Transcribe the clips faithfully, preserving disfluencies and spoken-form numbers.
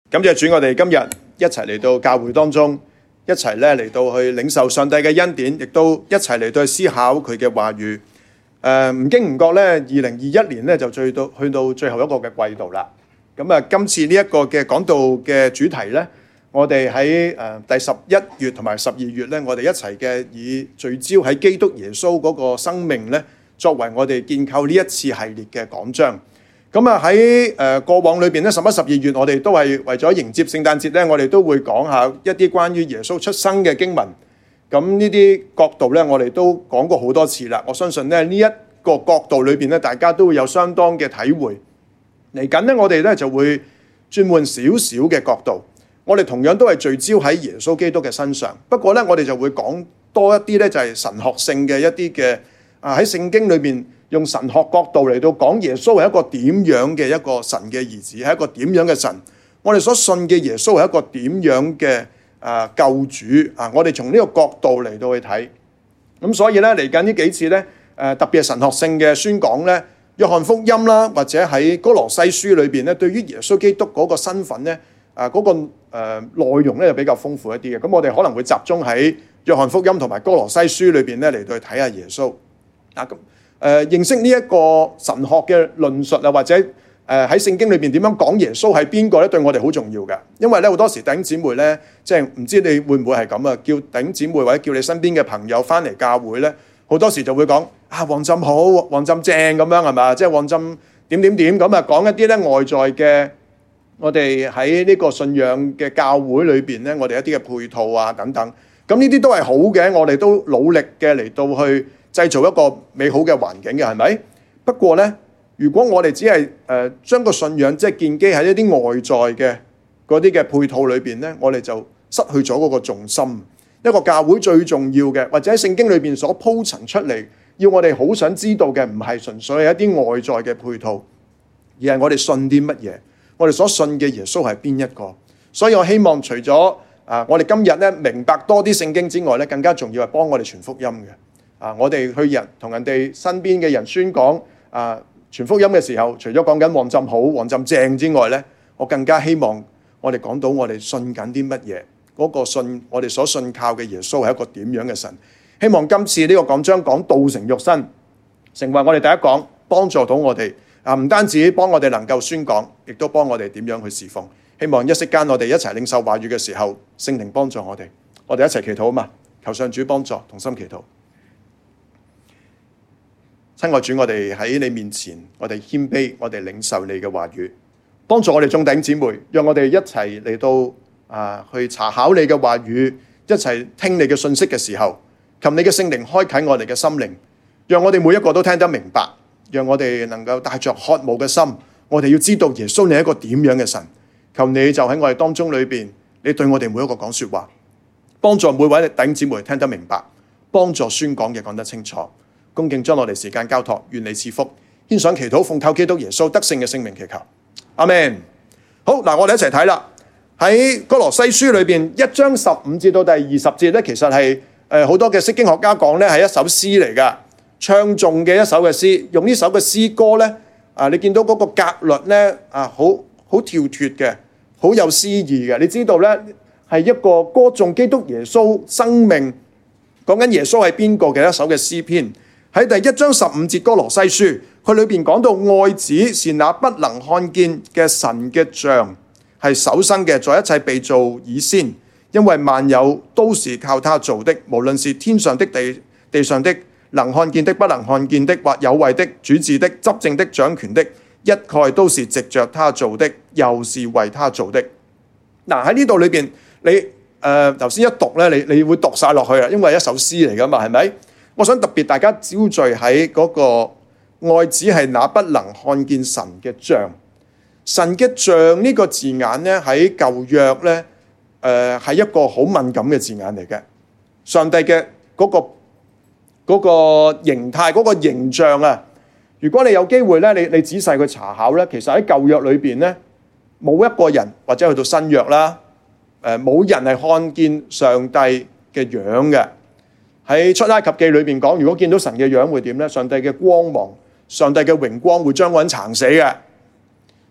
感謝主，我哋今日一齊嚟到教會當中，一齊咧嚟到去領受上帝嘅恩典，亦都一齊嚟到去思考佢嘅話語。誒、呃，唔經唔覺咧，二零二一年咧就最到去到最後一個嘅季度啦。咁啊，今次呢一個嘅講道嘅主題咧，我哋喺誒第十一月同埋十二月咧，我哋一齊嘅以聚焦喺基督耶穌嗰個生命咧，作為我哋建構呢一次系列嘅講章。咁啊喺誒過往裏邊咧，十一、十二月我哋都係為咗迎接聖誕節咧，我哋都會講下一啲關於耶穌出生嘅經文。咁呢啲角度咧，我哋都講過好多次啦。我相信咧呢一個角度裏邊咧，大家都會有相當嘅體會。嚟緊咧，我哋咧就會轉換少少嘅角度。我哋同樣都係聚焦喺耶穌基督嘅身上。不過咧，我哋就會講多一啲咧，就係神學性嘅一啲嘅啊喺聖經裏邊。用神學角度嚟到講耶穌係一個點樣嘅一個神嘅兒子，係一個點樣嘅神。我哋所信嘅耶穌係一個點樣嘅啊救主啊！我哋從呢個角度嚟到去睇。咁所以咧嚟緊呢幾次咧，誒特別係神學性嘅宣講咧，約翰福音啦，或者喺哥羅西書裏邊咧，對於耶穌基督嗰個身份咧，啊嗰個誒內容咧就比較豐富一啲嘅。咁我哋可能會集中喺約翰福音同埋哥羅西書裏邊咧嚟到去睇下耶穌啊咁。誒、呃、認識呢一個神學嘅論述啊，或者誒喺聖經裏邊點樣講耶穌係邊個咧？對我哋好重要嘅，因為咧好多時弟兄姊妹咧，即係唔知你會唔會係咁啊？叫弟兄姊妹或者叫你身邊嘅朋友翻嚟教會咧，好多時就會講啊，旺浸好，旺浸正咁樣係嘛？即係旺浸點點點咁啊，講一啲咧外在嘅，我哋喺呢個信仰嘅教會裏邊咧，我哋一啲嘅配套啊等等，咁呢啲都係好嘅，我哋都努力嘅嚟到去製造一個美好嘅環境嘅，係咪？不過呢，如果我哋只係誒將個信仰即係建基喺一啲外在嘅嗰啲嘅配套裏邊呢，我哋就失去咗嗰個重心。一個教會最重要嘅，或者喺聖經裏邊所鋪陳出嚟，要我哋好想知道嘅，唔係純粹係一啲外在嘅配套，而係我哋信啲乜嘢，我哋所信嘅耶穌係邊一個。所以我希望除咗啊，我哋今日咧明白多啲聖經之外咧，更加重要係幫我哋傳福音嘅。啊！我哋去人同人哋身邊嘅人宣講啊，傳福音嘅時候，除咗講緊旺浸好、旺浸正之外咧，我更加希望我哋講到我哋信緊啲乜嘢，嗰個信我哋所信靠嘅耶穌係一個點樣嘅神。希望今次呢個講章講道成肉身，成為我哋第一講，幫助到我哋啊！唔單止幫我哋能夠宣講，亦都幫我哋點樣去侍奉。希望一息間我哋一齊領受話語嘅時候，聖靈幫助我哋，我哋一齊祈禱啊嘛！求上主幫助，同心祈禱。親愛主，我哋喺你面前，我哋謙卑，我哋領受你嘅話語，幫助我哋眾弟兄姊妹，讓我哋一齊嚟到啊去查考你嘅話語，一齊聽你嘅信息嘅時候，求你嘅聖靈開啟我哋嘅心靈，讓我哋每一個都聽得明白，讓我哋能夠帶着渴慕嘅心，我哋要知道耶穌你係一個點樣嘅神，求你就喺我哋當中裏邊，你對我哋每一個講說話，幫助每位弟兄姊妹聽得明白，幫助宣講嘅講得清楚。恭敬將我哋時間交託，願你賜福，獻上祈禱，奉靠基督耶穌得勝嘅聖名祈求，阿們。好，嗱，我哋一齊睇啦。喺哥羅西書裏邊一章十五節到第二十節咧，其實係誒好多嘅釋經學家講咧係一首詩嚟噶，唱頌嘅一首嘅詩。用呢首嘅詩歌咧，啊，你見到嗰個格律咧啊，好好跳脫嘅，好有詩意嘅。你知道咧係一個歌頌基督耶穌生命，講緊耶穌係邊個嘅一首嘅詩篇。喺第一章十五節哥羅西書，佢裏邊講到愛子是那不能看見嘅神嘅像，係首生嘅，在一切被造以先，因為萬有都是靠他做的，無論是天上的地地上的，能看見的不能看見的，或有位的主治的執政的掌權的，一概都是藉着他做的，又是為他做的。嗱，喺呢度裏邊，你誒頭先一讀咧，你你會讀晒落去啊，因為一首詩嚟噶嘛，係咪？我想特別大家焦聚喺嗰個愛子係那不能看見神嘅像，神嘅像呢個字眼咧喺舊約咧，誒係一個好敏感嘅字眼嚟嘅。上帝嘅嗰個嗰個形態嗰個形象啊，如果你有機會咧，你你仔細去查考咧，其實喺舊約裏邊咧，冇一個人或者去到新約啦，誒冇人係看見上帝嘅樣嘅。喺出埃及記裏邊講，如果見到神嘅樣會點咧？上帝嘅光芒、上帝嘅榮光會將個人撐死嘅。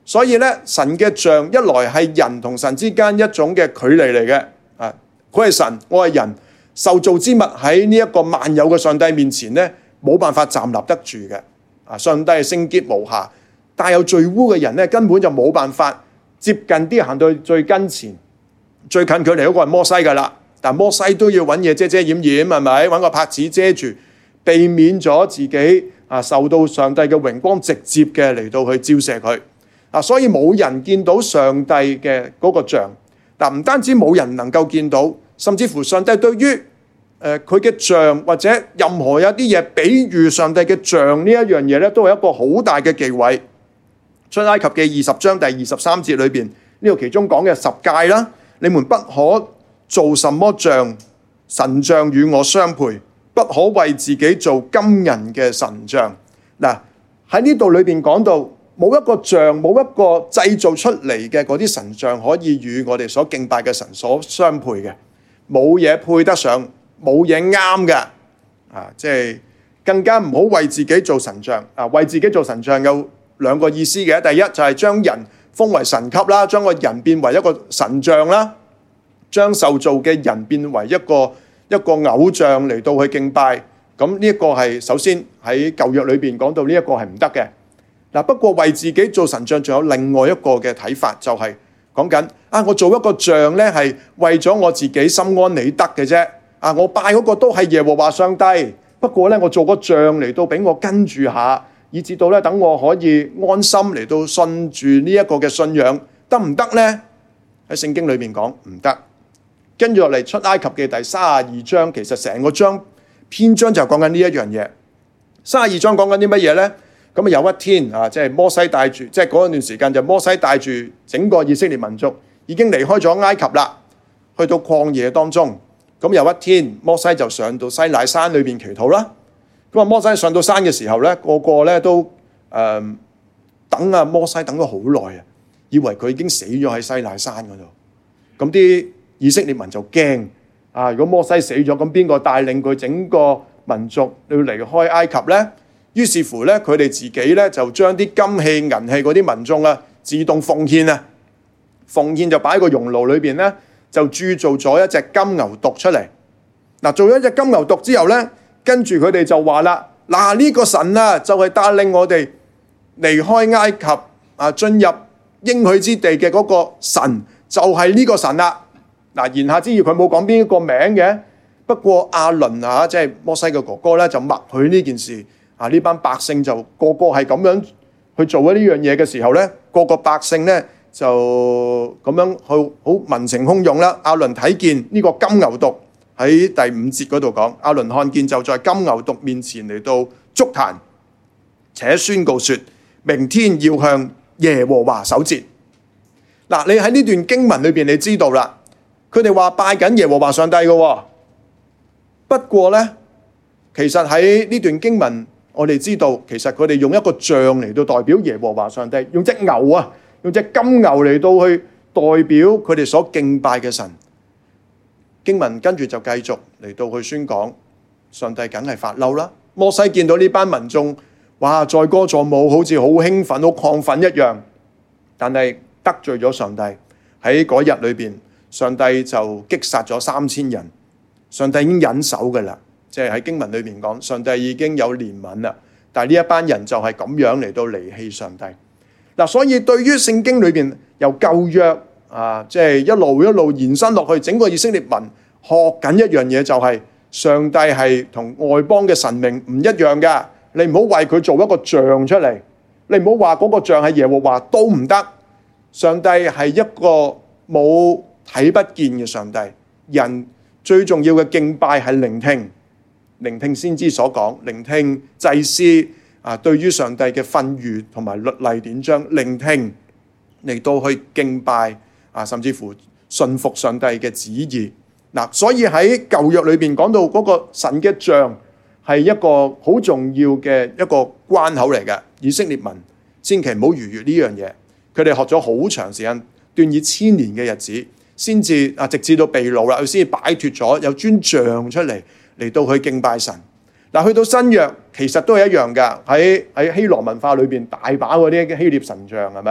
所以咧，神嘅像一來係人同神之間一種嘅距離嚟嘅，啊，佢係神，我係人，受造之物喺呢一個萬有嘅上帝面前咧，冇辦法站立得住嘅。啊，上帝係聖潔無瑕，帶有罪污嘅人咧，根本就冇辦法接近啲行到最跟前，最近距離嗰個係摩西噶啦。但摩西都要揾嘢遮遮掩掩，係咪？揾個帕子遮住，避免咗自己啊受到上帝嘅榮光直接嘅嚟到去照射佢。啊，所以冇人見到上帝嘅嗰個像。嗱，唔單止冇人能夠見到，甚至乎上帝對於誒佢嘅像或者任何有啲嘢比喻上帝嘅像呢一樣嘢咧，都係一個好大嘅忌諱。出埃及記二十章第二十三節裏邊呢度其中講嘅十誡啦，你們不可做什麼像，神像與我相配，不可為自己做金銀嘅神像。嗱，喺呢度裏邊講到。冇一個像，冇一個製造出嚟嘅嗰啲神像可以與我哋所敬拜嘅神所相配嘅，冇嘢配得上，冇嘢啱嘅，啊，即係更加唔好為自己做神像。啊，為自己做神像有兩個意思嘅，第一就係將人封為神級啦，將個人變為一個神像啦，將受造嘅人變為一個一個偶像嚟到去敬拜。咁呢一個係首先喺舊約裏邊講到呢一個係唔得嘅。嗱，不過為自己做神像，仲有另外一個嘅睇法，就係講緊啊，我做一個像咧，係為咗我自己心安理得嘅啫。啊，我拜嗰個都係耶和華上帝，不過咧，我做個像嚟到俾我跟住下，以至到咧等我可以安心嚟到信住呢一個嘅信仰，得唔得咧？喺聖經裏面講唔得。跟住落嚟出埃及記第三十二章，其實成個章篇章就講緊呢一樣嘢。三十二章講緊啲乜嘢咧？咁啊有一天啊，即係摩西帶住，即係嗰段時間就摩西帶住整個以色列民族已經離開咗埃及啦，去到曠野當中。咁有一天，摩西就上到西乃山裏邊祈禱啦。咁啊，摩西上到山嘅時候咧，個個咧都誒、呃、等啊摩西等咗好耐啊，以為佢已經死咗喺西乃山嗰度。咁啲以色列民就驚啊！如果摩西死咗，咁邊個帶領佢整個民族要離開埃及咧？於是乎咧，佢哋自己咧就將啲金器、銀器嗰啲民眾啊，自動奉獻啊，奉獻就擺喺個熔爐裏邊咧，就鑄造咗一隻金牛犢出嚟。嗱，做咗一隻金牛犢之後咧，跟住佢哋就話啦：嗱，呢個神啊，就係帶領我哋離開埃及啊，進入應許之地嘅嗰個神，就係呢個神啦。嗱，言下之意佢冇講邊一個名嘅，不過亞倫啊，即係摩西嘅哥哥咧，就默許呢件事。啊！呢班百姓就個個係咁樣去做咗呢樣嘢嘅時候咧，個個百姓咧就咁樣去好民情洶湧啦。亞倫睇見呢個金牛犢喺第五節嗰度講，亞倫看見就在金牛犢面前嚟到築壇，且宣告說：明天要向耶和華守節。嗱，你喺呢段經文裏邊，你知道啦，佢哋話拜緊耶和華上帝嘅。不過咧，其實喺呢段經文。我哋知道，其實佢哋用一個像嚟到代表耶和華上帝，用隻牛啊，用隻金牛嚟到去代表佢哋所敬拜嘅神。經文跟住就繼續嚟到去宣講，上帝梗係發嬲啦。摩西見到呢班民眾，哇，載歌載舞，好似好興奮、好亢奮一樣，但係得罪咗上帝。喺嗰日裏邊，上帝就擊殺咗三千人。上帝已經忍手㗎喇。即係喺經文裏面講，上帝已經有憐憫啦，但係呢一班人就係咁樣嚟到離棄上帝。嗱，所以對於聖經裏邊由舊約啊，即係一路一路延伸落去，整個以色列民學緊一樣嘢，就係上帝係同外邦嘅神明唔一樣㗎。你唔好為佢做一個像出嚟，你唔好話嗰個像係耶和華都唔得。上帝係一個冇睇不見嘅上帝，人最重要嘅敬拜係聆聽。聆聽先知所講，聆聽祭司啊對於上帝嘅訓諭同埋律例典章，聆聽嚟到去敬拜啊，甚至乎信服上帝嘅旨意。嗱、啊，所以喺舊約裏邊講到嗰個神嘅像係一個好重要嘅一個關口嚟嘅。以色列民千祈唔好逾越呢樣嘢，佢哋學咗好長時間，斷以千年嘅日子，先至啊直至到被擄啦，佢先至擺脫咗有尊像出嚟。嚟到去敬拜神。嗱，去到新約其實都係一樣㗎。喺喺希羅文化裏邊大把嗰啲希臘神像係咪？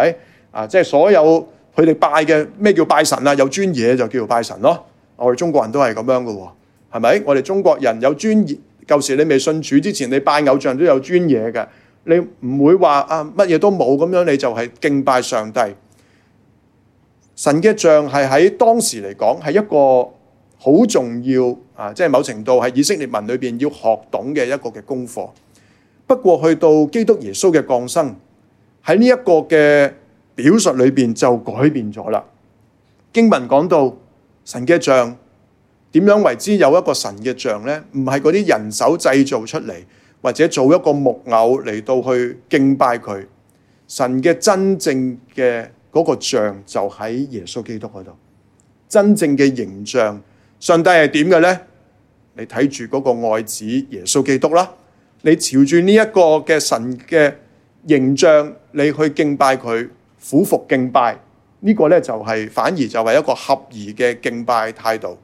啊，即係所有佢哋拜嘅咩叫拜神啊？有尊嘢就叫做拜神咯。我哋中國人都係咁樣嘅喎，係咪？我哋中國人有尊嘢，舊時你未信主之前，你拜偶像都有尊嘢嘅，你唔會話啊乜嘢都冇咁樣，你就係敬拜上帝。神嘅像係喺當時嚟講係一個好重要啊，即係某程度係以色列民裏邊要學懂嘅一個嘅功課。不過去到基督耶穌嘅降生，喺呢一個嘅表述裏邊就改變咗啦。經文講到神嘅像點樣為之有一個神嘅像呢？唔係嗰啲人手製造出嚟，或者做一個木偶嚟到去敬拜佢。神嘅真正嘅嗰個像就喺耶穌基督嗰度，真正嘅形象。上帝係點嘅呢？你睇住嗰個愛子耶穌基督啦，你朝住呢一個嘅神嘅形象，你去敬拜佢，俯伏敬拜。呢個咧就係反而就係一個合宜嘅敬拜態度。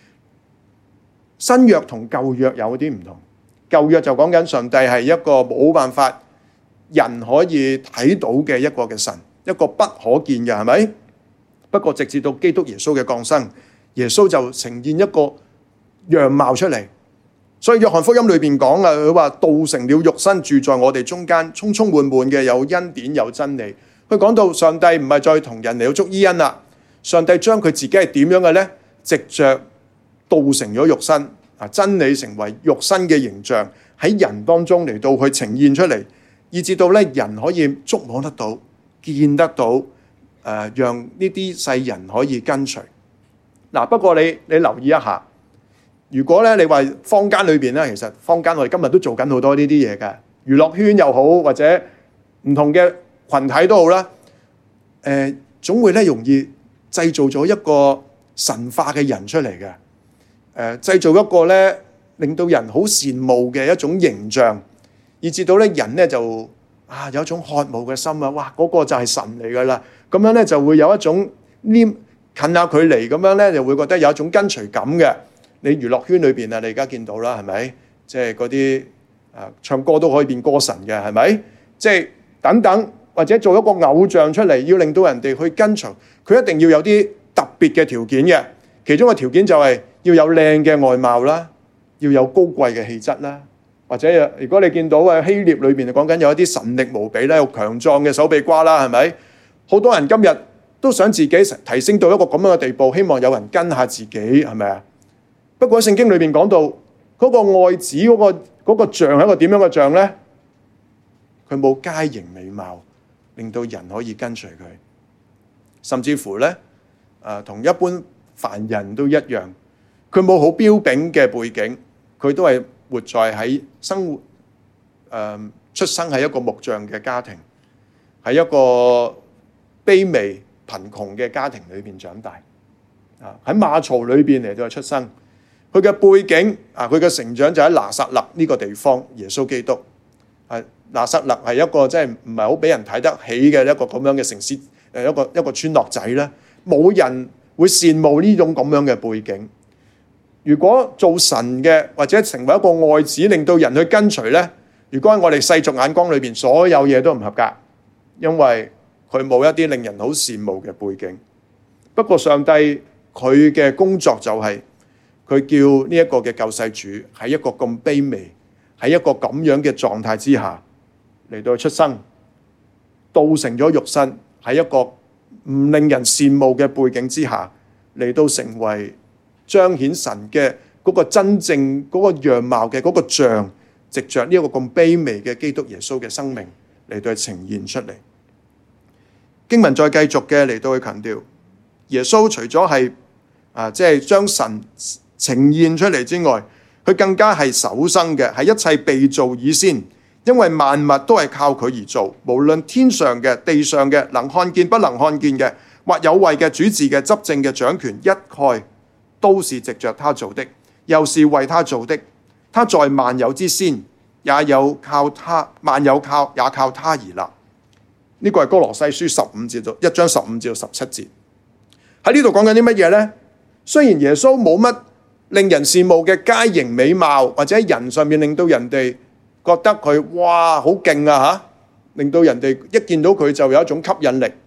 新約同舊約有啲唔同，舊約就講緊上帝係一個冇辦法人可以睇到嘅一個嘅神，一個不可見嘅，係咪？不過直至到基督耶穌嘅降生，耶穌就呈現一個樣貌出嚟。所以約翰福音裏邊講啊，佢話道成了肉身，住在我哋中間，充充滿滿嘅有恩典有真理。佢講到上帝唔係再同人嚟到捉伊恩啦，上帝將佢自己係點樣嘅呢？藉着道成咗肉身啊，真理成為肉身嘅形象喺人當中嚟到去呈現出嚟，以至到咧人可以觸摸得到、見得到，誒、呃，讓呢啲世人可以跟隨。嗱、啊，不過你你留意一下，如果咧你話坊間裏邊咧，其實坊間我哋今日都做緊好多呢啲嘢嘅，娛樂圈又好，或者唔同嘅群體都好啦，誒、呃，總會咧容易製造咗一個神化嘅人出嚟嘅，誒、呃，製造一個咧令到人好羨慕嘅一種形象，以至到咧人咧就啊有一種渴慕嘅心啊，哇，嗰、那個就係神嚟噶啦，咁樣咧就會有一種黏近下佢嚟，咁樣咧就會覺得有一種跟隨感嘅。你娛樂圈裏邊啊，你而家見到啦，係咪？即係嗰啲啊唱歌都可以變歌神嘅，係咪？即係等等。或者做一個偶像出嚟，要令到人哋去跟隨，佢一定要有啲特別嘅條件嘅。其中嘅條件就係要有靚嘅外貌啦，要有高貴嘅氣質啦。或者如果你見到啊希臘裏邊講緊有一啲神力無比咧，有強壯嘅手臂瓜啦，係咪？好多人今日都想自己提升到一個咁樣嘅地步，希望有人跟下自己，係咪啊？不過喺聖經裏邊講到嗰個愛子嗰個嗰個像係一個點樣嘅像咧？佢冇佳形美貌，令到人可以跟隨佢，甚至乎咧，誒、呃、同一般凡人都一樣，佢冇好標炳嘅背景，佢都係活在喺生活誒、呃、出生喺一個木匠嘅家庭，喺一個卑微貧窮嘅家庭裏邊長大，啊喺馬槽裏邊嚟到出生，佢嘅背景啊，佢嘅成長就喺拿撒勒呢個地方，耶穌基督係。拿撒勒係一個即係唔係好俾人睇得起嘅一個咁樣嘅城市，誒一個一個村落仔咧，冇人會羨慕呢種咁樣嘅背景。如果做神嘅或者成為一個愛子，令到人去跟隨咧，如果喺我哋世俗眼光裏邊，所有嘢都唔合格，因為佢冇一啲令人好羨慕嘅背景。不過上帝佢嘅工作就係、是、佢叫呢一個嘅救世主喺一個咁卑微，喺一個咁樣嘅狀態之下。嚟到出生，道成咗肉身，喺一個唔令人羨慕嘅背景之下，嚟到成為彰顯神嘅嗰個真正嗰個樣貌嘅嗰個像，藉着呢一個咁卑微嘅基督耶穌嘅生命嚟到呈現出嚟。經文再繼續嘅嚟到去強調，耶穌除咗係啊，即係將神呈現出嚟之外，佢更加係首生嘅，係一切被造以先。因為萬物都係靠佢而做，無論天上嘅、地上嘅、能看見不能看見嘅，或有位嘅、主治嘅、執政嘅、掌權，一概都是藉着他做的，又是為他做的。他在萬有之先，也有靠他，萬有靠也靠他而立。呢、這個係哥羅西書十五至到一章十五至到十七節。喺呢度講緊啲乜嘢呢？雖然耶穌冇乜令人羨慕嘅佳形美貌，或者喺人上面令到人哋覺得佢哇好勁啊吓，令到人哋一見到佢就有一種吸引力。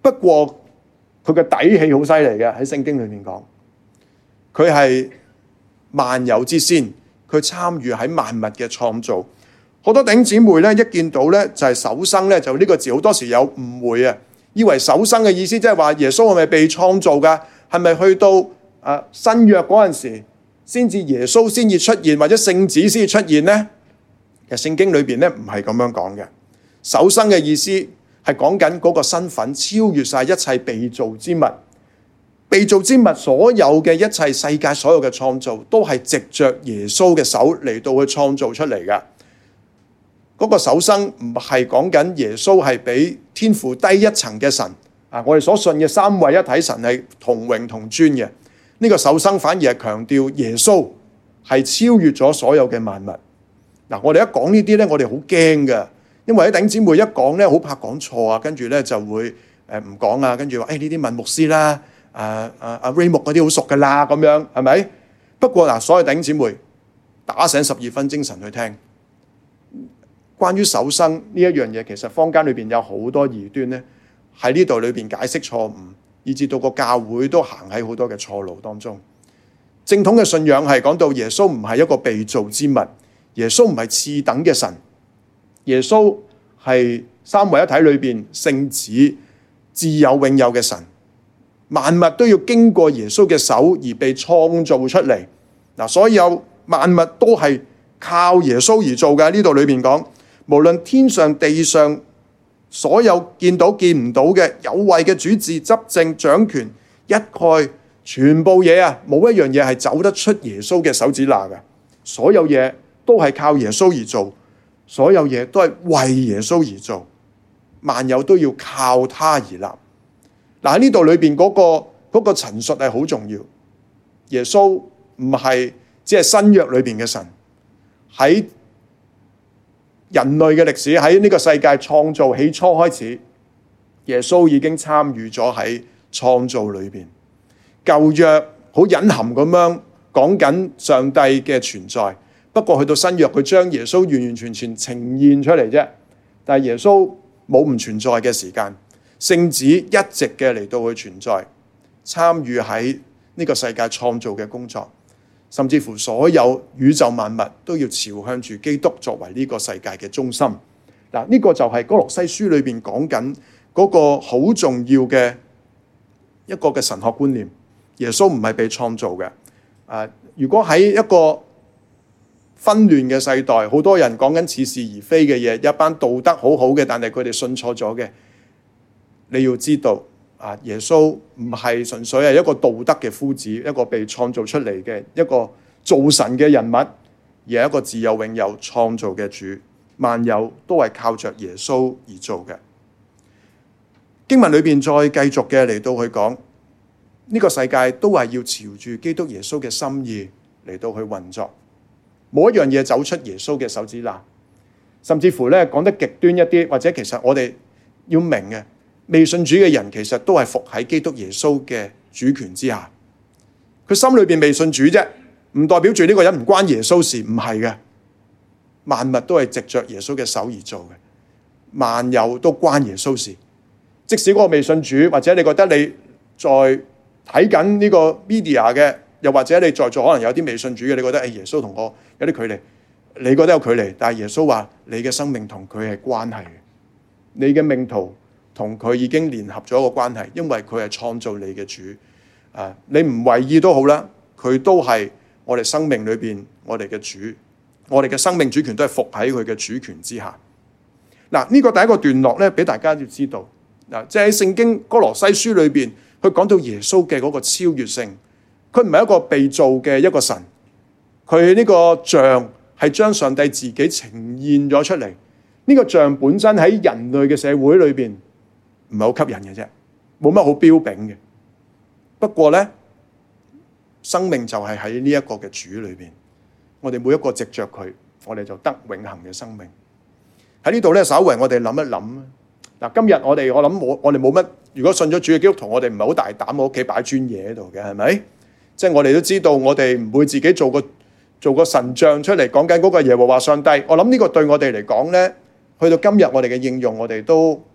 不過佢嘅底氣好犀利嘅，喺聖經裏面講，佢係萬有之先，佢參與喺萬物嘅創造。好多弟兄姊妹咧，一見到咧就係首生咧，就呢個字好多時有誤會啊，以為首生嘅意思即係話耶穌係咪被創造噶？係咪去到啊新約嗰陣時先至耶穌先至出現，或者聖子先至出現呢？其實聖經裏邊咧唔係咁樣講嘅。首生嘅意思係講緊嗰個身份超越晒一切被造之物，被造之物所有嘅一切世界所有嘅創造都係藉着耶穌嘅手嚟到去創造出嚟嘅。嗰個首生唔係講緊耶穌係比天父低一層嘅神啊！我哋所信嘅三位一體神係同榮同尊嘅。呢個首生反而係強調耶穌係超越咗所有嘅萬物。嗱，我哋一講呢啲咧，我哋好驚㗎，因為啲弟兄姊妹一講咧，好怕講錯啊，跟住咧就會誒唔講啊，跟住話誒呢啲問牧師啦，啊啊阿 Ray 牧嗰啲好熟噶啦，咁樣係咪？不過嗱，所有弟兄姊妹打醒十二分精神去聽。關於首生呢一樣嘢，其實坊間裏邊有好多異端咧，喺呢度裏邊解釋錯誤，以至到個教會都行喺好多嘅錯路當中。正統嘅信仰係講到耶穌唔係一個被造之物，耶穌唔係次等嘅神，耶穌係三位一體裏邊聖子，自有永有嘅神，萬物都要經過耶穌嘅手而被創造出嚟。嗱，所有萬物都係靠耶穌而做嘅。呢度裏邊講，無論天上地上所有見到見唔到嘅有位嘅主治執政掌權一概全部嘢啊，冇一樣嘢係走得出耶穌嘅手指罅嘅。所有嘢都係靠耶穌而做，所有嘢都係為耶穌而做，萬有都要靠他而立。嗱，喺呢度裏邊嗰個嗰個陳述係好重要。耶穌唔係只係新約裏邊嘅神，喺人類嘅歷史，喺呢個世界創造起初開始，耶穌已經參與咗喺創造裏邊。舊約好隱含咁樣講緊上帝嘅存在，不過去到新約，佢將耶穌完完全全呈現出嚟啫。但係耶穌冇唔存在嘅時間，聖子一直嘅嚟到去存在，參與喺呢個世界創造嘅工作。甚至乎所有宇宙萬物都要朝向住基督作為呢個世界嘅中心。嗱，呢個就係哥羅西書裏邊講緊嗰個好重要嘅一個嘅神學觀念。耶穌唔係被創造嘅。啊，如果喺一個紛亂嘅世代，好多人講緊似是而非嘅嘢，一班道德好好嘅，但係佢哋信錯咗嘅，你要知道。啊！耶穌唔係純粹係一個道德嘅夫子，一個被創造出嚟嘅一個造神嘅人物，而係一個自有永有創造嘅主。萬有都係靠着耶穌而做嘅。經文裏邊再繼續嘅嚟到去講，呢個世界都係要朝住基督耶穌嘅心意嚟到去運作，冇一樣嘢走出耶穌嘅手指罅。甚至乎咧講得極端一啲，或者其實我哋要明嘅。未信主嘅人其實都係服喺基督耶穌嘅主權之下，佢心裏邊未信主啫，唔代表住呢個人唔關耶穌事，唔係嘅。萬物都係藉着耶穌嘅手而做嘅，萬有都關耶穌事。即使嗰個未信主，或者你覺得你在睇緊呢個 media 嘅，又或者你在座可能有啲未信主嘅，你覺得誒耶穌同我有啲距離，你覺得有距離，但係耶穌話你嘅生命同佢係關係嘅，你嘅命途同佢已經聯合咗一個關係，因為佢係創造你嘅主。啊，你唔為意都好啦，佢都係我哋生命裏邊我哋嘅主，我哋嘅生命主權都係服喺佢嘅主權之下。嗱，呢個第一個段落咧，俾大家要知道。嗱，即係喺聖經哥羅西書裏邊，佢講到耶穌嘅嗰個超越性，佢唔係一個被造嘅一個神，佢呢個像係將上帝自己呈現咗出嚟。呢個像本身喺人類嘅社會裏邊，唔係好吸引嘅啫，冇乜好標炳嘅。不過咧，生命就係喺呢一個嘅主裏邊，我哋每一個藉着佢，我哋就得永恆嘅生命。喺呢度咧，稍為我哋諗一諗嗱，今日我哋我諗我我哋冇乜，如果信咗主嘅基督徒，我哋唔係好大膽喺屋企擺尊嘢喺度嘅，係咪？即係我哋都知道，我哋唔會自己做個做個神像出嚟講緊嗰個耶和華上帝。我諗呢個對我哋嚟講咧，去到今日我哋嘅應用，我哋都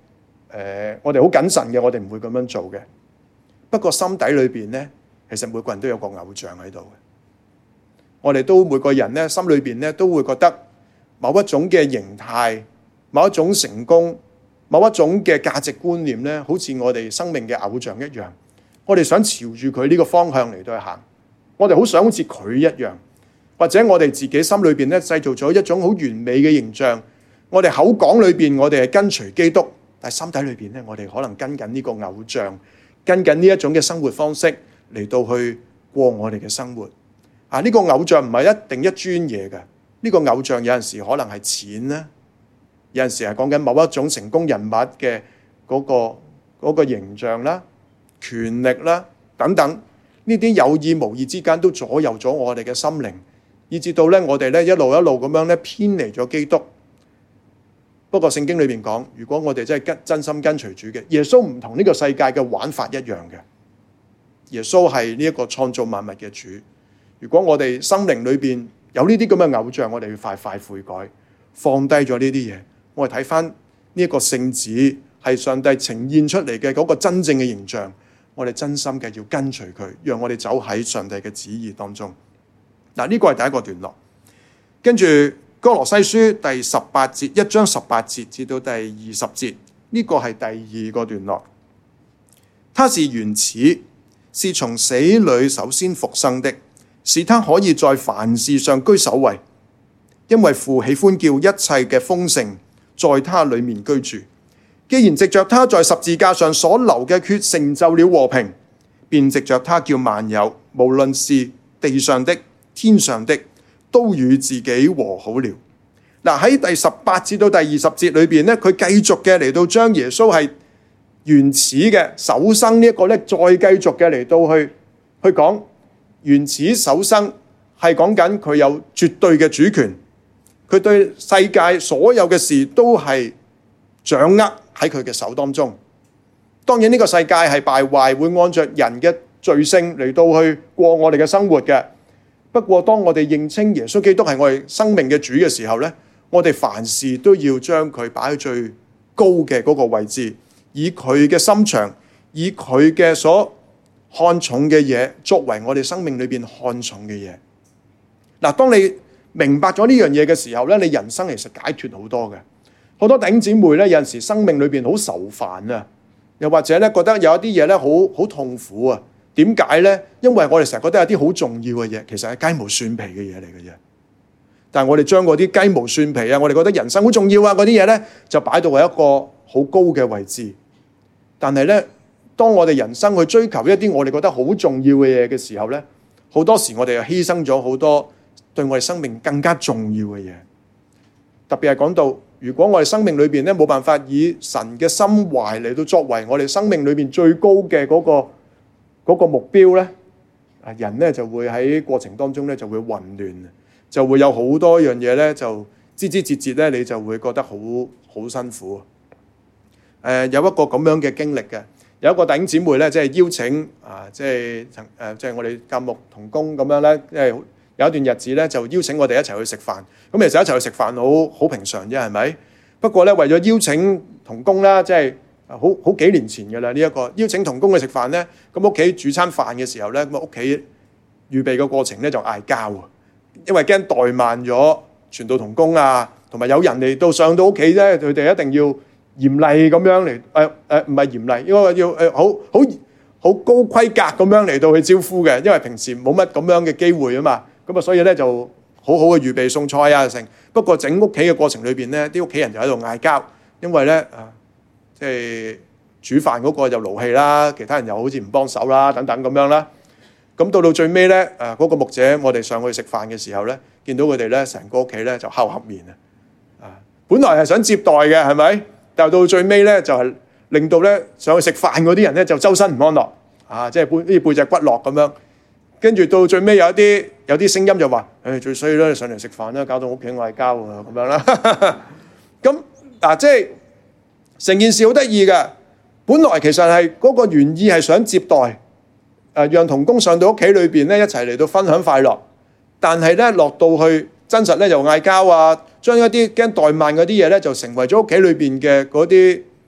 呃、我哋好謹慎嘅，我哋唔會咁樣做嘅。不過心底裏邊咧，其實每個人都有個偶像喺度嘅。我哋都每個人咧，心裏邊咧都會覺得某一種嘅形態、某一種成功、某一種嘅價值觀念咧，好似我哋生命嘅偶像一樣。我哋想朝住佢呢個方向嚟到去行，我哋好想好似佢一樣，或者我哋自己心裏邊咧製造咗一種好完美嘅形象。我哋口講裏邊我哋係跟隨基督，但係心底裏邊咧，我哋可能跟緊呢個偶像，跟緊呢一種嘅生活方式嚟到去過我哋嘅生活。啊，呢個偶像唔係一定一專嘢嘅，呢個偶像有陣時可能係錢啦，有陣時係講緊某一種成功人物嘅嗰個嗰個形象啦、權力啦等等，呢啲有意無意之間都左右咗我哋嘅心靈，以至到咧我哋咧一路一路咁樣咧偏離咗基督。不過聖經裏邊講，如果我哋真係跟真心跟隨主嘅，耶穌唔同呢個世界嘅玩法一樣嘅。耶穌係呢一個創造萬物嘅主。如果我哋生命裏邊有呢啲咁嘅偶像，我哋要快快悔改，放低咗呢啲嘢。我哋睇翻呢一個聖子係上帝呈現出嚟嘅嗰個真正嘅形象，我哋真心嘅要跟隨佢，讓我哋走喺上帝嘅旨意當中。嗱，呢個係第一個段落，跟住。歌羅西書第十八節，一章十八節至到第二十節，呢個係第二個段落。他是原始，是從死裏首先復生的，使他可以在凡事上居首位。因為父喜歡叫一切嘅豐盛在他裡面居住。既然藉着他在十字架上所流嘅血成就了和平，便藉着他叫萬有，無論是地上的、天上的，都與自己和好了。嗱，喺第十八至到第二十節裏邊咧，佢繼續嘅嚟到將耶穌係原始嘅首生呢一個咧，再繼續嘅嚟到去去講原始首生係講緊佢有絕對嘅主權，佢對世界所有嘅事都係掌握喺佢嘅手當中。當然呢個世界係敗壞，會按着人嘅罪性嚟到去過我哋嘅生活嘅。不過，當我哋認清耶穌基督係我哋生命嘅主嘅時候咧，我哋凡事都要將佢擺喺最高嘅嗰個位置，以佢嘅心腸，以佢嘅所看重嘅嘢作為我哋生命裏邊看重嘅嘢。嗱，當你明白咗呢樣嘢嘅時候咧，你人生其實解脫好多嘅。好多弟兄姊妹咧，有陣時生命裏邊好愁煩啊，又或者咧覺得有一啲嘢咧好好痛苦啊。點解呢？因為我哋成日覺得有啲好重要嘅嘢，其實係雞毛蒜皮嘅嘢嚟嘅啫。但係我哋將嗰啲雞毛蒜皮啊，我哋覺得人生好重要啊嗰啲嘢呢，就擺到喺一個好高嘅位置。但係呢，當我哋人生去追求一啲我哋覺得好重要嘅嘢嘅時候呢，好多時我哋又犧牲咗好多對我哋生命更加重要嘅嘢。特別係講到，如果我哋生命裏邊呢冇辦法以神嘅心懷嚟到作為我哋生命裏邊最高嘅嗰個。嗰個目標咧，啊人咧就會喺過程當中咧就會混亂，就會有好多樣嘢咧就枝枝節節咧，你就會覺得好好辛苦。誒、呃、有一個咁樣嘅經歷嘅，有一個弟兄姊妹咧，即係邀請啊，即係曾誒，即係我哋教牧同工咁樣咧，即係有一段日子咧，就邀請我哋一齊去食飯。咁其實一齊去食飯好好平常啫，係咪？不過咧，為咗邀請同工啦，即係。好好幾年前嘅啦，呢一個邀請同工去食飯咧，咁屋企煮餐飯嘅時候咧，咁屋企預備嘅過程咧就嗌交啊，因為驚怠慢咗傳道同工啊，同埋有人嚟到上到屋企咧，佢哋一定要嚴厲咁樣嚟誒誒，唔係嚴厲，應該要誒好好好高規格咁樣嚟到去招呼嘅，因為平時冇乜咁樣嘅機會啊嘛，咁啊所以咧就好好嘅預備餸菜啊成。不過整屋企嘅過程裏邊咧，啲屋企人就喺度嗌交，因為咧啊。即係煮飯嗰個就勞氣啦，其他人又好似唔幫手啦，等等咁樣啦。咁到到最尾咧，誒嗰個牧者，我哋上去食飯嘅時候咧，見到佢哋咧，成個屋企咧就黑黑面啊！啊，本來係想接待嘅，係咪？但係到最尾咧，就係令到咧上去食飯嗰啲人咧就周身唔安樂啊！即係背啲背脊骨落咁樣。跟住到最尾有一啲有啲聲音就話：誒最衰啦，上嚟食飯啦，搞到屋企嗌交啊咁樣啦。咁嗱，即係。成件事好得意嘅，本來其實係嗰個原意係想接待，誒讓同工上到屋企裏邊咧一齊嚟到分享快樂，但係咧落到去真實咧就嗌交啊，將一啲驚怠慢嗰啲嘢咧就成為咗屋企裏邊嘅嗰啲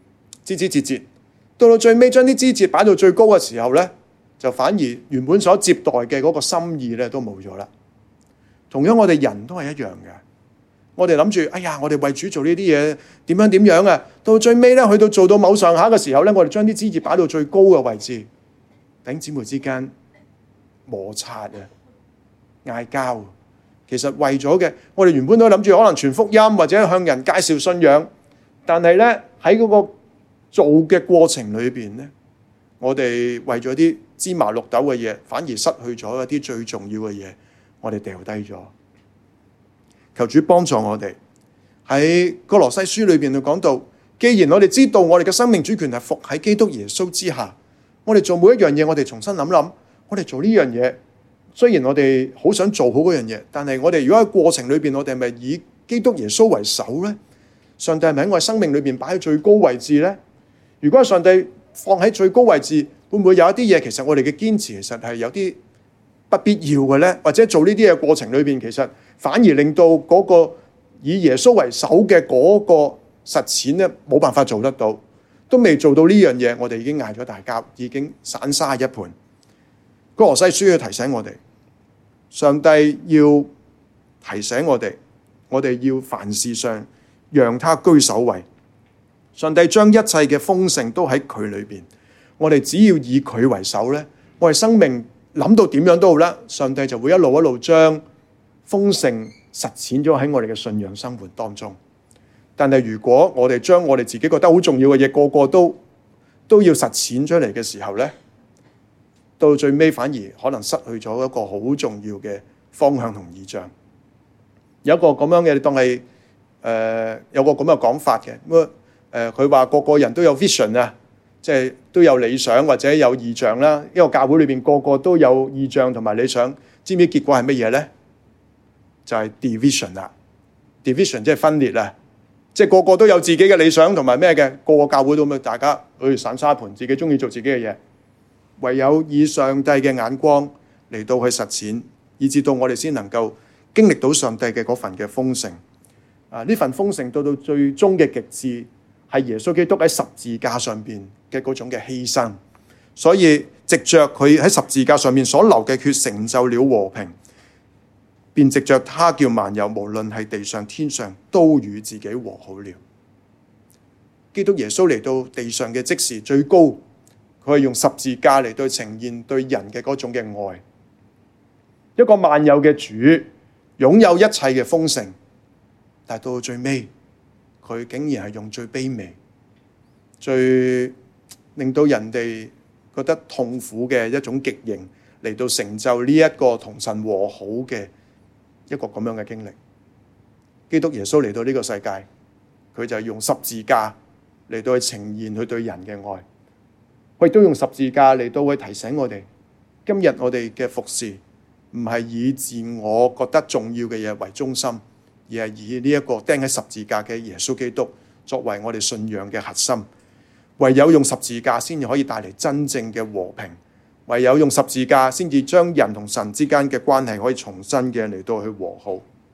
枝枝節節，到到最尾將啲枝節擺到最高嘅時候咧，就反而原本所接待嘅嗰個心意咧都冇咗啦。同樣我哋人都係一樣嘅，我哋諗住，哎呀，我哋為主做呢啲嘢點樣點樣啊，到最尾咧去到做到某上下嘅時候咧，我哋將啲枝節擺到最高嘅位置，弟兄姊妹之間摩擦啊，嗌交。其實為咗嘅，我哋原本都諗住可能傳福音或者向人介紹信仰，但係咧喺嗰個做嘅過程裏邊咧，我哋為咗啲芝麻綠豆嘅嘢，反而失去咗一啲最重要嘅嘢，我哋掉低咗。求主幫助我哋喺歌羅西書裏邊就講到，既然我哋知道我哋嘅生命主權係服喺基督耶穌之下，我哋做每一樣嘢，我哋重新諗諗，我哋做呢樣嘢。雖然我哋好想做好嗰樣嘢，但係我哋如果喺過程裏邊，我哋係咪以基督耶穌為首呢？上帝係咪喺我哋生命裏邊擺喺最高位置呢？如果上帝放喺最高位置，會唔會有一啲嘢其實我哋嘅堅持其實係有啲不必要嘅呢？或者做呢啲嘢過程裏邊，其實反而令到嗰個以耶穌為首嘅嗰個實踐呢，冇辦法做得到，都未做到呢樣嘢，我哋已經嗌咗大交，已經散沙一盤。歌羅西書要提醒我哋，上帝要提醒我哋，我哋要凡事上讓他居首位。上帝將一切嘅豐盛都喺佢裏邊，我哋只要以佢為首咧，我哋生命諗到點樣都好啦，上帝就會一路一路將豐盛實踐咗喺我哋嘅信仰生活當中。但係如果我哋將我哋自己覺得好重要嘅嘢，個個都都要實踐出嚟嘅時候咧，到最尾反而可能失去咗一個好重要嘅方向同意象。有一個咁樣嘅，你當係誒、呃、有個咁嘅講法嘅。咁誒佢話個個人都有 vision 啊，即係都有理想或者有異象啦。一個教會裏邊個個都有異象同埋理想，知唔知結果係乜嘢咧？就係、是、division 啦。division 即係分裂啊！即係個個都有自己嘅理想同埋咩嘅，個個教會都咁，大家去散沙盤，自己中意做自己嘅嘢。唯有以上帝嘅眼光嚟到去實踐，以至到我哋先能夠經歷到上帝嘅嗰份嘅豐盛。啊，呢份豐盛到到最終嘅極致，係耶穌基督喺十字架上邊嘅嗰種嘅犧牲。所以藉着佢喺十字架上面所流嘅血，成就了和平，便藉着他叫萬有，無論係地上天上，都與自己和好了。基督耶穌嚟到地上嘅即時最高。佢係用十字架嚟對呈現對人嘅嗰種嘅愛，一個萬有嘅主，擁有一切嘅豐盛，但係到最尾，佢竟然係用最卑微、最令到人哋覺得痛苦嘅一種極刑嚟到成就呢一個同神和好嘅一個咁樣嘅經歷。基督耶穌嚟到呢個世界，佢就係用十字架嚟到去呈現佢對人嘅愛。佢亦都用十字架嚟到去提醒我哋，今日我哋嘅服侍唔係以自我覺得重要嘅嘢為中心，而係以呢一個釘喺十字架嘅耶穌基督作為我哋信仰嘅核心。唯有用十字架先至可以帶嚟真正嘅和平，唯有用十字架先至將人同神之間嘅關係可以重新嘅嚟到去和好。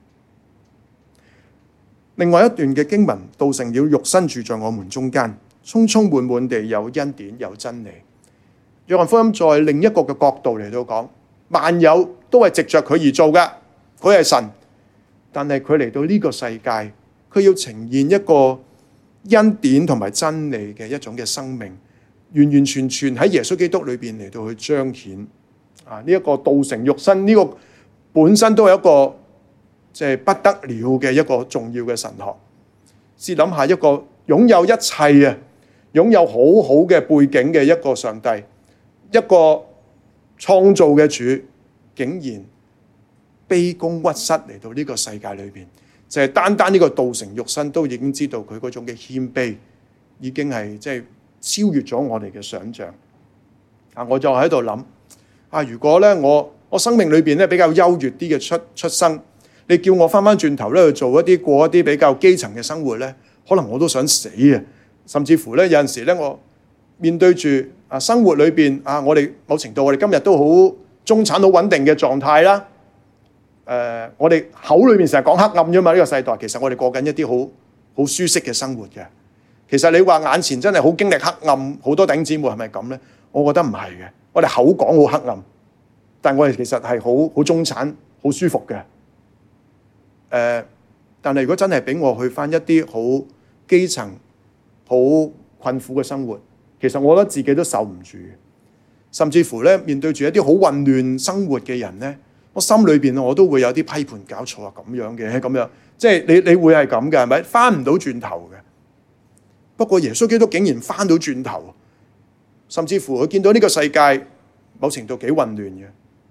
另外一段嘅經文，道成了肉身住在我們中間，充充滿滿地有恩典有真理。約翰福音在另一個嘅角度嚟到講，萬有都係藉着佢而做㗎，佢係神，但係佢嚟到呢個世界，佢要呈現一個恩典同埋真理嘅一種嘅生命，完完全全喺耶穌基督裏邊嚟到去彰顯。啊，呢一個道成肉身，呢個本身都係一個即係不得了嘅一個重要嘅神學。試諗下，一個擁有一切啊，擁有好好嘅背景嘅一個上帝，一個創造嘅主，竟然卑躬屈膝嚟到呢個世界裏邊，就係單單呢個道成肉身都已經知道佢嗰種嘅謙卑，已經係即係超越咗我哋嘅想象。啊，我就喺度諗啊，如果咧我我生命裏邊咧比較優越啲嘅出出生，你叫我翻翻轉頭咧去做一啲過一啲比較基層嘅生活咧，可能我都想死啊！甚至乎咧有陣時咧，我面對住啊生活裏邊啊，我哋某程度我哋今日都好中產好穩定嘅狀態啦。誒、呃，我哋口裏面成日講黑暗啫嘛，呢個世代其實我哋過緊一啲好好舒適嘅生活嘅。 其實你話眼前真係好經歷黑暗，好多弟兄姊妹係咪咁咧？我覺得唔係嘅。我哋口講好黑暗，但我哋其實係好好中產、好舒服嘅。誒、呃，但係如果真係俾我去返一啲好基層、好困苦嘅生活，其實我覺得自己都受唔住。甚至乎咧，面對住一啲好混亂生活嘅人咧，我心裏邊我都會有啲批判，搞錯啊，咁樣嘅咁樣，即係你你會係咁嘅係咪？翻唔到轉頭嘅。不過耶穌基督竟然翻到轉頭，甚至乎佢見到呢個世界某程度幾混亂嘅。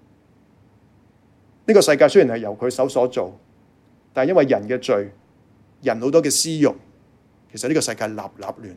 呢個世界雖然係由佢手所做，但係因為人嘅罪，人好多嘅私欲，其實呢個世界立立亂。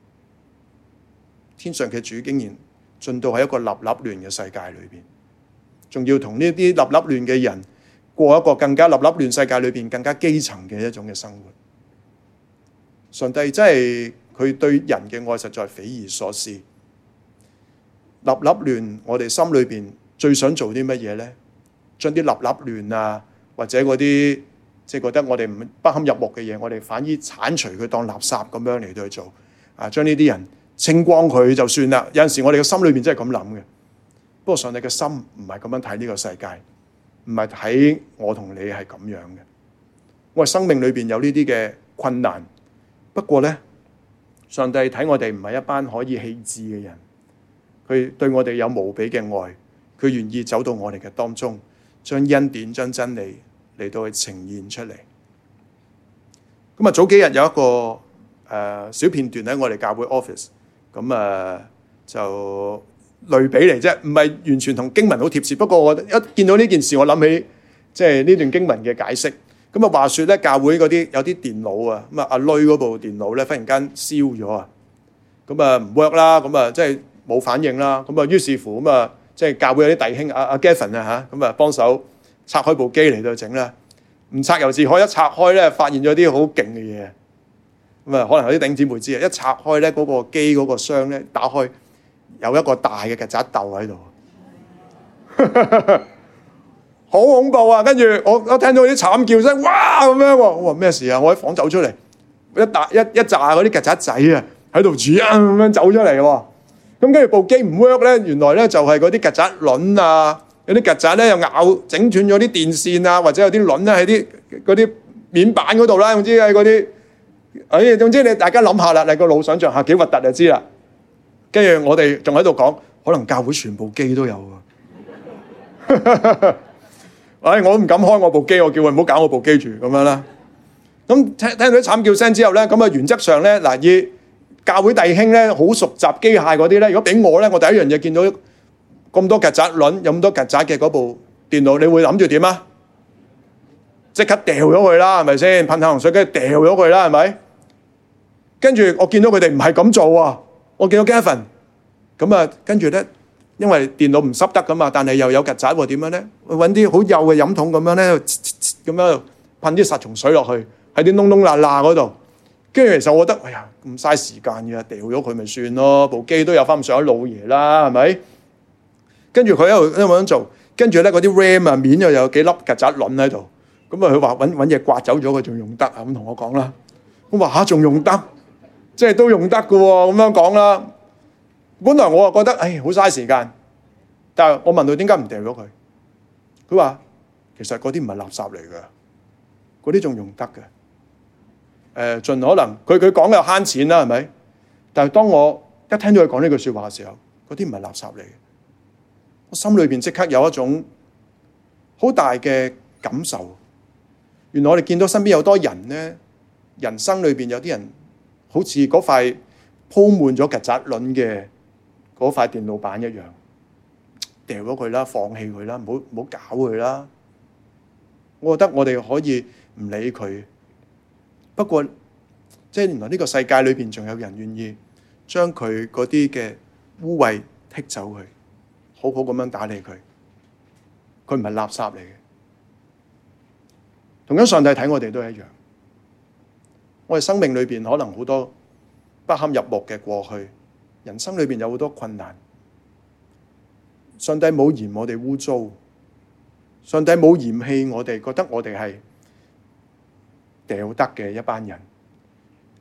天上嘅主竟然進到喺一個立立亂嘅世界裏邊，仲要同呢啲立立亂嘅人過一個更加立立亂世界裏邊更加基層嘅一種嘅生活。上帝真係佢對人嘅愛實在匪夷所思。立立亂，我哋心裏邊最想做啲乜嘢咧？將啲立立亂啊，或者嗰啲即係覺得我哋唔不堪入目嘅嘢，我哋反而剷除佢當垃圾咁樣嚟到去做啊！將呢啲人清光佢就算啦。有陣時我哋嘅心裏邊真係咁諗嘅。不過上帝嘅心唔係咁樣睇呢個世界，唔係睇我同你係咁樣嘅。我哋生命裏邊有呢啲嘅困難，不過咧，上帝睇我哋唔係一班可以棄置嘅人，佢對我哋有無比嘅愛，佢願意走到我哋嘅當中，將恩典、將真理嚟到去呈現出嚟。咁啊，早幾日有一個誒、呃、小片段喺我哋教會 office， 咁啊、呃、就類比嚟啫，唔係完全同經文好貼切。不過我一見到呢件事，我諗起即係呢段經文嘅解釋。咁啊，話說咧，教會嗰啲有啲電腦啊，咁啊阿女嗰部電腦咧，忽然間燒咗啊，咁啊唔 work 啦，咁啊即係冇反應啦，咁啊於是乎咁啊，即係教會有啲弟兄阿阿 Gavin 啊嚇，咁啊幫手拆開部機嚟到整啦，唔拆猶自可，一拆開咧，發現咗啲好勁嘅嘢，咁啊可能有啲弟兄姊妹知啊，一拆開咧嗰個機嗰個箱咧，打開有一個大嘅曱甴竇喺度。好恐怖啊！跟住我我聽到啲慘叫聲，哇咁樣喎！我話咩事啊？我喺房走出嚟，一大一一紮嗰啲曱甴仔啊，喺度煮啊咁樣走出嚟喎。咁跟住部機唔 work 咧，原來咧就係嗰啲曱甴卵啊，有啲曱甴咧又咬整斷咗啲電線啊，或者有啲卵咧喺啲嗰啲面板嗰度啦，總之喺嗰啲，誒總之你大家諗下啦，你個腦想像下幾核突就知啦。跟住我哋仲喺度講，可能教會全部機都有啊。哎，我都唔敢開我部機，我叫佢唔好搞我部機住咁樣啦。咁聽聽到啲慘叫聲之後咧，咁啊原則上咧嗱，以教會弟兄咧好熟習機械嗰啲咧，如果俾我咧，我第一樣嘢見到咁多曱甴卵，有咁多曱甴嘅嗰部電腦，你會諗住點啊？即刻掉咗佢啦，係咪先？噴下洪水跟住掉咗佢啦，係咪？跟住我見到佢哋唔係咁做啊，我見到 Gavin 咁啊，跟住咧。因為電腦唔濕得噶嘛，但係又有曱甴喎，點樣咧？揾啲好幼嘅飲筒咁樣咧，咁樣噴啲殺蟲水落去，喺啲窿窿罅罅嗰度。跟住其實我覺得，哎呀，咁嘥時間嘅，掉咗佢咪算咯，部機都有翻咁上下老爺啦，係咪？跟住佢喺度咁樣做，跟住咧嗰啲 RAM 啊面又有幾粒曱甴卵喺度。咁啊，佢話揾揾嘢刮走咗佢，仲用得啊？咁同我講啦。我話嚇，仲用得，即係都用得嘅喎。咁樣講啦。本來我啊覺得，唉，好嘥時間，但係我問佢點解唔掉咗佢？佢話其實嗰啲唔係垃圾嚟嘅，嗰啲仲用得嘅。誒、呃，盡可能，佢佢講嘅慳錢啦，係咪？但係當我一聽到佢講呢句説話嘅時候，嗰啲唔係垃圾嚟嘅，我心裏邊即刻有一種好大嘅感受。原來我哋見到身邊有多人咧，人生裏邊有啲人好似嗰塊鋪滿咗曱甴卵嘅嗰塊電腦板一樣，掉咗佢啦，放棄佢啦，唔好唔好搞佢啦。我覺得我哋可以唔理佢，不過即係原來呢個世界裏邊仲有人願意將佢嗰啲嘅污穢剔走佢，好好咁樣打理佢。佢唔係垃圾嚟嘅。同樣上帝睇我哋都係一樣，我哋生命裏邊可能好多不堪入目嘅過去，人生裏邊有好多困難。上帝冇嫌我哋污糟，上帝冇嫌棄我哋，覺得我哋係掉得嘅一班人。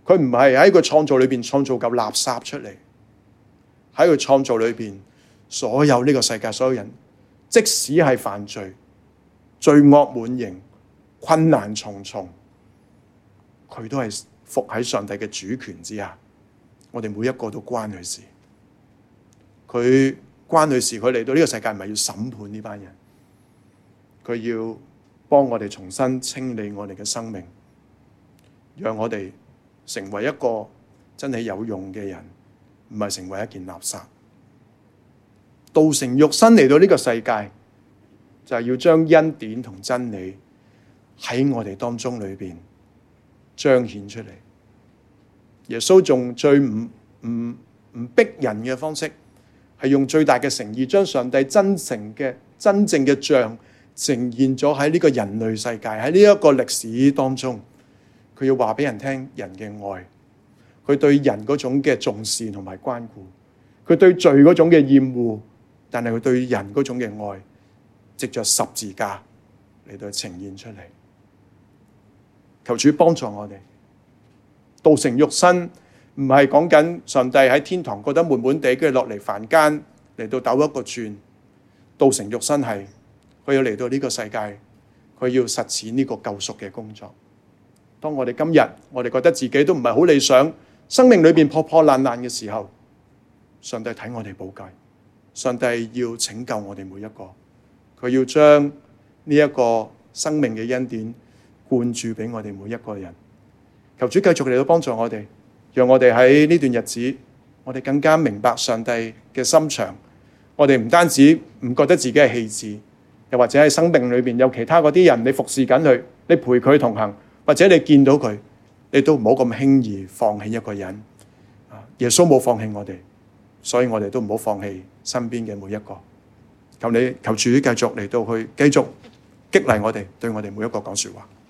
佢唔係喺佢創造裏邊創造嚿垃圾出嚟，喺佢創造裏邊所有呢個世界所有人，即使係犯罪、罪惡滿盈、困難重重，佢都係服喺上帝嘅主權之下。我哋每一個都關佢事，佢關佢事。佢嚟到呢個世界唔係要審判呢班人，佢要幫我哋重新清理我哋嘅生命，讓我哋成為一個真係有用嘅人，唔係成為一件垃圾。道成肉身嚟到呢個世界，就係要將恩典同真理喺我哋當中裏邊彰顯出嚟。耶穌仲最唔唔唔逼人嘅方式，係用最大嘅誠意，將上帝真誠嘅真正嘅像呈現咗喺呢個人類世界，喺呢一個歷史當中。佢要話俾人聽人嘅愛，佢對人嗰種嘅重視同埋關顧，佢對罪嗰種嘅厭惡，但係佢對人嗰種嘅愛，藉着十字架嚟到呈現出嚟。求主幫助我哋。道成肉身唔係講緊上帝喺天堂覺得悶悶地，跟住落嚟凡間嚟到兜一個轉。道成肉身係佢要嚟到呢個世界，佢要實踐呢個救贖嘅工作。當我哋今日我哋覺得自己都唔係好理想，生命裏邊破破爛爛嘅時候，上帝睇我哋寶貴，上帝要拯救我哋每一個，佢要將呢一個生命嘅恩典灌注俾我哋每一個人。求主繼續嚟到幫助我哋，讓我哋喺呢段日子，我哋更加明白上帝嘅心腸。我哋唔單止唔覺得自己係棄置，又或者喺生命裏邊有其他嗰啲人，你服侍緊佢，你陪佢同行，或者你見到佢，你都唔好咁輕易放棄一個人。耶穌冇放棄我哋，所以我哋都唔好放棄身邊嘅每一個。求你求主繼續嚟到去繼續激勵我哋，對我哋每一個講說話。